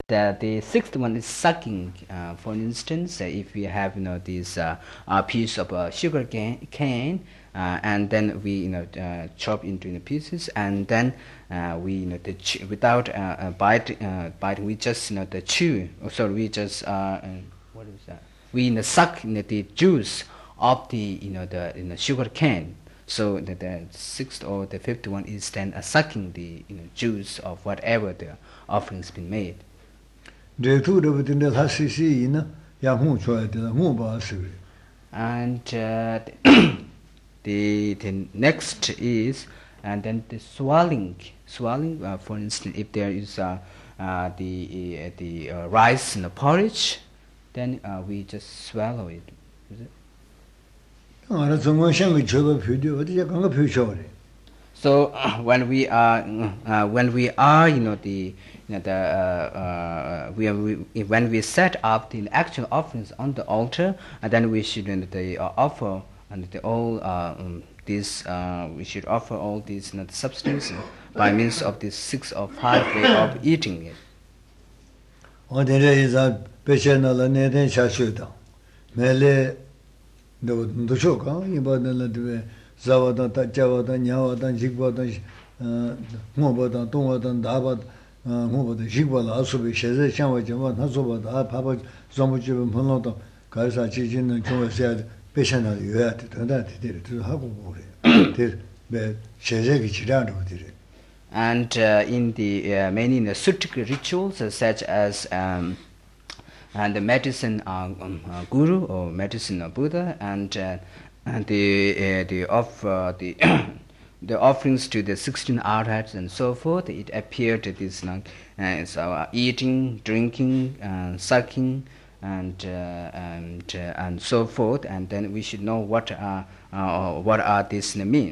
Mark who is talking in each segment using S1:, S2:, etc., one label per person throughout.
S1: The sixth one is sucking. For instance, if we have this a piece of sugar cane, and then we chop into pieces, and then we without biting, we just the chew. Sorry, we just what is that? We suck the juice of the the sugar cane. So the sixth or the fifth one is then sucking the juice of whatever the offering's been made. And the next is, and then the swallowing. For instance, if there is the rice in the porridge, then we just swallow it. Is it? So when we are when we set up the actual offerings on the altar, and then we should offer we should offer all these substances by means of this 6 or 5 way of eating it. And in the many Sutric rituals, such as and the medicine guru or medicine Buddha, and the offerings to the 16 arhats and so forth, it appeared this eating, drinking, sucking, and so forth, and then we should know what are these mean.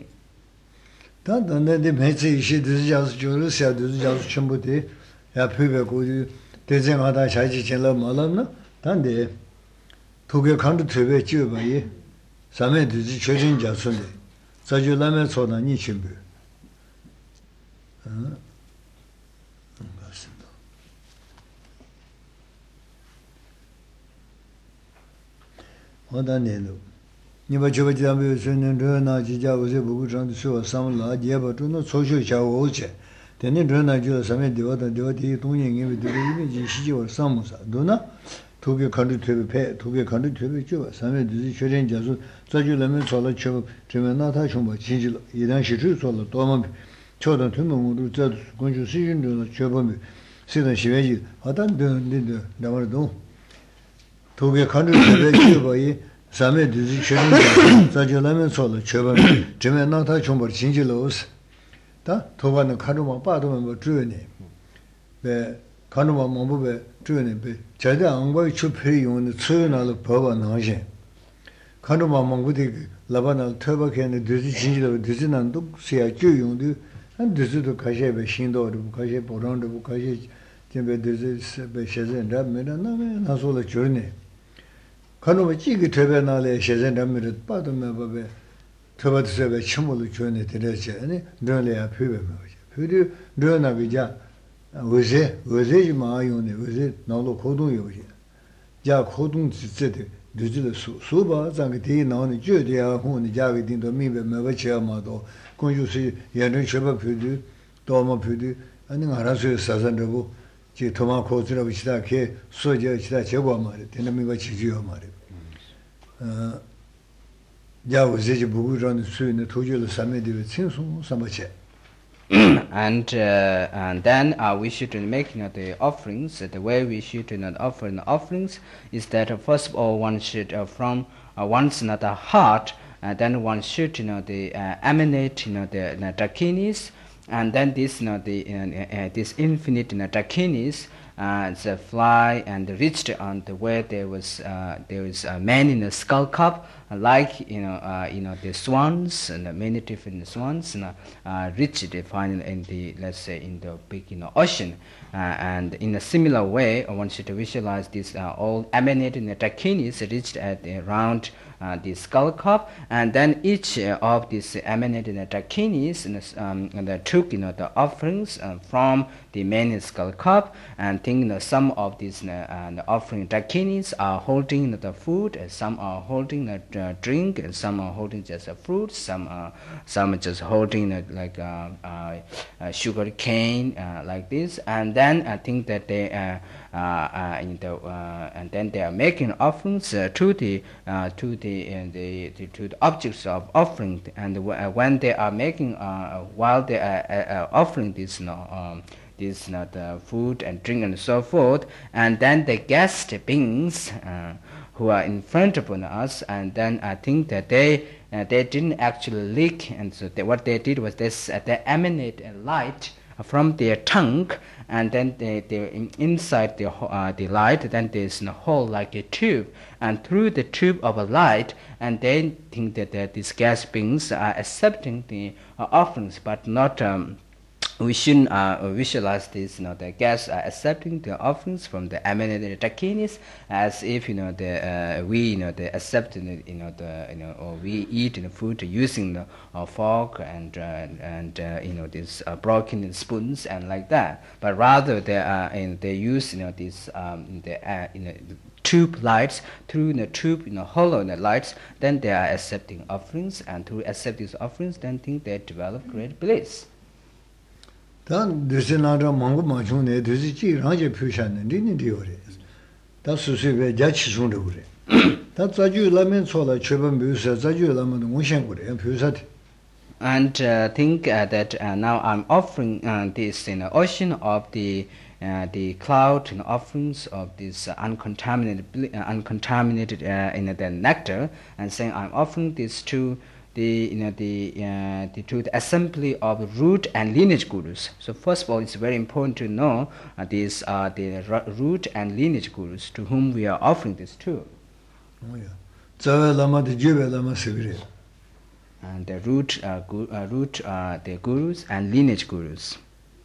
S2: Niba chuba jidambi sunin runa jija uzi buku chandu suwa samla jeba chunu choshu chawo oche. Teni runa jula sami diwa di tongyi ngibi diwa imi ji shiji war samusa. Duna tuki kandu tubi pe, tuki kandu tubi chuba sami dizi choren jasu zaju lami chola chuba chime nata chumba chinjila. Idan shichu chola domambi chodan tumi muru zadu kunshu sijun runa chubambi sidan shiveji hatan dun damar dun. Tuki kandu tubi chuba yi Same dizi chörin zajolamın solu çöbem cime nata çombar çinjilos da tobanın kanuma badımın bu cüne ve kanuma mambu ve cüne be çayda angbayı çöperi yonu çönalı baba naje kanuma mambu de labanal töbakeni dizi çinjilo dizinan duk siya cü yonu han dizi de kaje be şindo bu kaje borandı bu kaje cime dizi be şezen ramena nasıl ola cüne Kanuma chigi tebe nale shezen damirit padu mebabe teba tsebe chimulu chone terece ani dönle ya pübe mebaje. Püdü döna bija uze ji maa yone uze nalo kodun yoje. Ja kodun tsitsede düzile su ba zangi deyi nani jö diya huni jagi dindo mibe mebache amado kunju si yenrin cheba püdü doğma püdü ani ngara suyo sazan rebu ji toma kozira bichida ke soja chida chegwa mare tena miba chijiyo mare. And
S1: then we should make the offerings. The way we should offer the offerings is that first of all one should from one's heart, then one should emanate the dakinis, and then this this infinite dakinis fly and reached on the where there is a man in a skull cup, like the swans and many different swans reached finally in the, let's say, in the big ocean, and in a similar way one should visualize this all emanating dakinis reached at around the skull cup, and then each of these emanated dakinis took the offerings from the main skull cup, and think some of these the offering dakinis are holding the food, some are holding the drink, and some are holding just fruit, some are just holding like sugar cane like this, and then I think that they and then they are making offerings to the objects of offering, and when they are making while they are offering this food and drink and so forth, and then the guest beings who are in front of us, and then I think that they didn't actually lick, and so what they did was they emanate a light from their tongue, and then they inside the light, then there's a hole like a tube, and through the tube of a light, and they think that these gas beings are accepting the offerings, but not we shouldn't visualize this, the guests are accepting the offerings from the emanated dakinis as if we they accept or we eat the food using the fork and these broken spoons and like that, but rather they use these tube lights, through the tube hollow in the lights, then they are accepting offerings, and through accept these offerings, then think they develop great bliss.
S2: Dan desi nara mangu machung ne desi chi rangje pyushan ne rini diyo re. Da susi we jachi sung re ure. Da zaju lamen chola cheban pyusa, zaju lamen ngongshen ure, pyusati.
S1: And think that now I'm offering this ocean of the cloud offerings of this uncontaminated the nectar, and saying I'm offering this to to the assembly of root and lineage gurus. So first of all, it's very important to know these are the root and lineage gurus to whom we are offering this to.
S2: Oh yeah.
S1: And the root the gurus and lineage gurus.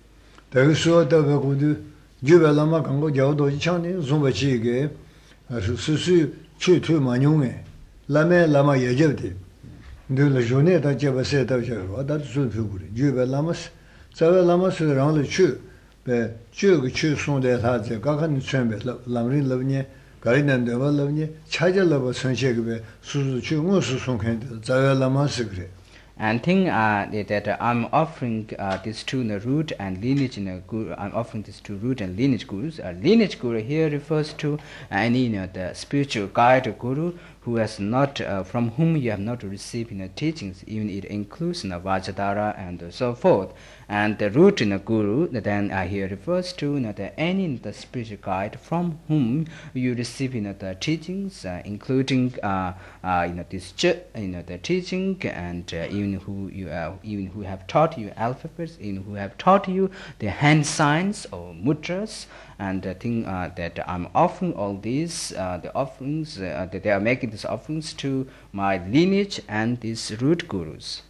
S2: De la journée da jeba se da jeba da su figure jeba lamas sabe lamas rang le chu be chu chu son de ta je ga kan chen be lamrin lavne garin de ba lavne chaja lava son che be su chu ngo su son kan de sabe lamas gre.
S1: And think that I'm offering this to the root and lineage guru. I'm offering this to root and lineage gurus. Lineage guru here refers to any the spiritual guide guru who has not from whom you have not received teachings. Even it includes Vajradhara and so forth. And the root guru then here refers to any the spiritual guide from whom you receive the teachings, including this the teaching, and even who have taught you alphabets, even who have taught you the hand signs or mudras. And I think that I'm offering all these the offerings that they are making these offerings to my lineage and these root gurus.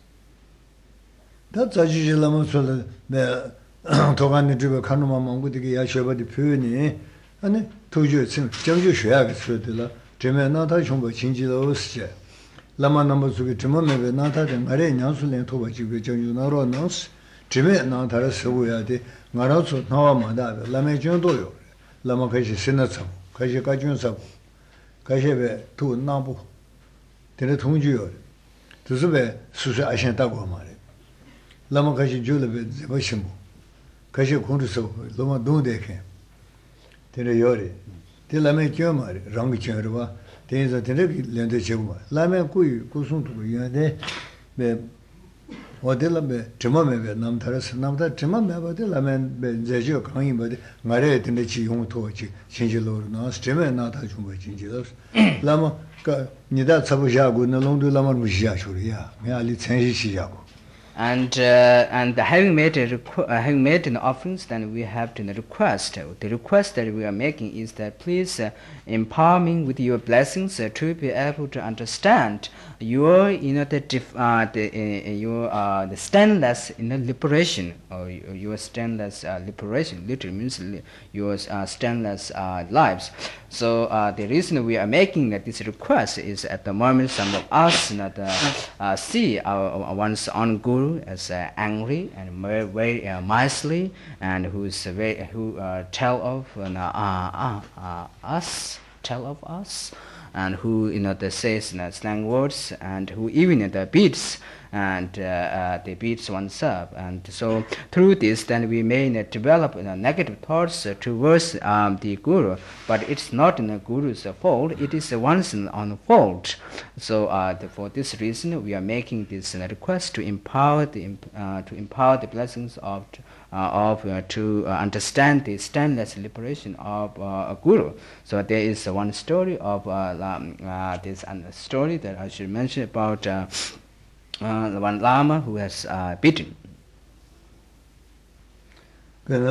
S2: That's a lama sola the Togani Driver Kanuma Mangudi Yashaba the Puni, and Toju Janju Shag Sudilla, Jemenata Chumba Chinjila Lama number to Timome Nata and Mare Nansul Toba Chibu Naro Nons, Jimmy Nata Sawadi, Marazo Nawa Mada, Lame Jondoyo, Lama Kashi Sinatsam, Kashi Kajun Sab, Kashebe, Tu Nabu, Tenetunju, Tuzube, Susa Ashantago Mare. Lama kashi julabe zebashimu, kashi kunduso, loma dundeke. Tene yori, te lame kyomari, rangi chenruwa, tenza tene lende cheguma. Lame kuyi kusuntu yande, be wadela be chimame be namtaras, namta chimame bade lame be zejo kangi bade, ngare tene chi yung tochi, chinji loru nas, chime nata chumba chinji los. Lama nida tsabu shagu, na longdu lama mushi shuri ya, me ali tsenshi shi shagu.
S1: And having made an offerings, then we have to request. The request that we are making is that please empower me with your blessings to be able to understand your the stainless liberation, or your stainless liberation. Literally means your stainless lives. So the reason we are making this request is at the moment some of us see our one's own guru as angry and very miserly, and who tell of us, and who they says slang words, and who even beats and they beats oneself. And so through this, then we may develop negative thoughts towards the guru, but it's not the guru's fault, it is one's own fault. So for this reason, we are making this request to empower the blessings to understand the stainless liberation of a guru. So there is one story of this story that I should mention about one Lama who has beaten.
S2: In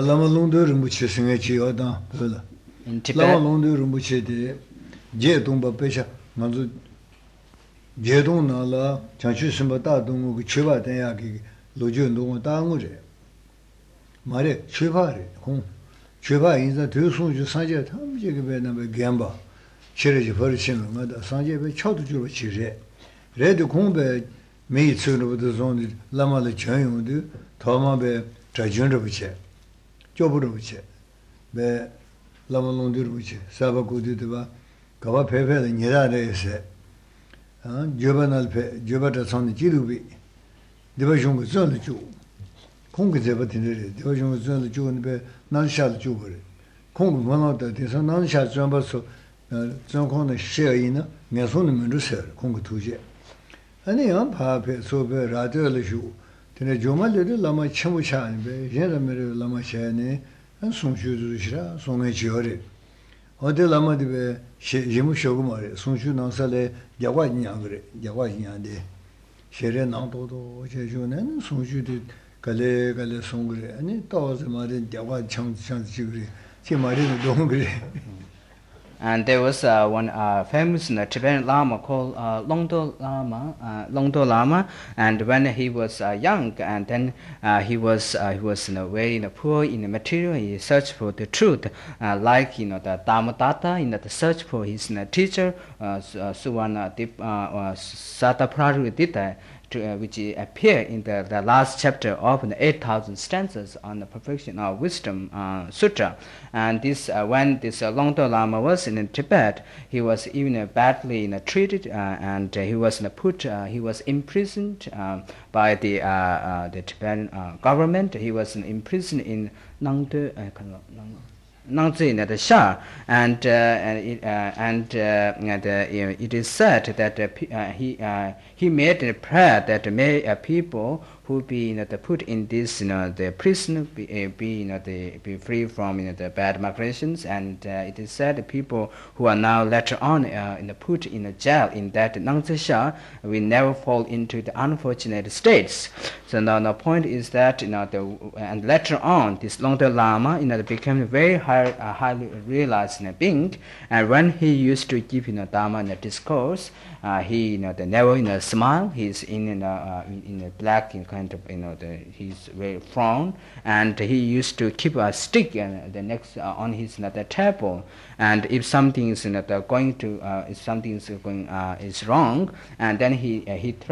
S1: Tibet,
S2: Mare chupare kong chupa inza tu sunju sanje tamje ke be na be gemba chire ji phari chin ma da sanje be chod ju chi re re de kong be me tsu no de zon la ma le chen yong de ta ma be zha jun de bu che jo bu de bu che be la ma long de bu che sa ba gu de ba ga ba phe phe de ni da de se jo ba nal phe jo ba da san ji lu bi de ba jong ge zon de ju 공기 제버티네 대화중 전에 주는데 난샤도 주거래 공부 만나다 대서 난샤 좀 봐서 정권의 시에이나 내손은 문제서 공부 두제 아니야 파페 소베 라디오를 주 근데 조말들이 라마 참우샤는데 얘네들 라마 샤네 한 송주주시라 송에 지어래 어디 라마디베 지무 쇼고 말해 송주 난살에 야과냐 그래 야과냐데 셰레 나도도 제주는 송주들 갈래 송그래 아니 또서 말은 대화 창지그래 제 말은 너무 그래.
S1: And there was one famous Tibetan Lama called Longdo Lama, and when he was young, and then he was very poor in the material. He searched for the truth, like the Dhammadata, the search for his teacher, Suwana Sataprarudita, which appear in the last chapter of the 8,000 stanzas on the Perfection of Wisdom Sutra. And this when this Longdo Lama was in Tibet, he was even badly treated, and he was imprisoned by the Tibetan government. He was imprisoned in Nangde Nangzi the Shah, and it is said that he made a prayer that may people who be put in this the prison be free from the bad migrations, and it is said people who are now later on put in a jail in that Nangzi Shah will never fall into the unfortunate states. So now the point is that and later on this Longdo Lama became a very highly realized being, and when he used to give Dharma discourse, he never smile. He's in a black kind of he's very frown, and he used to keep a stick the next on his table, and if something is is wrong, and then he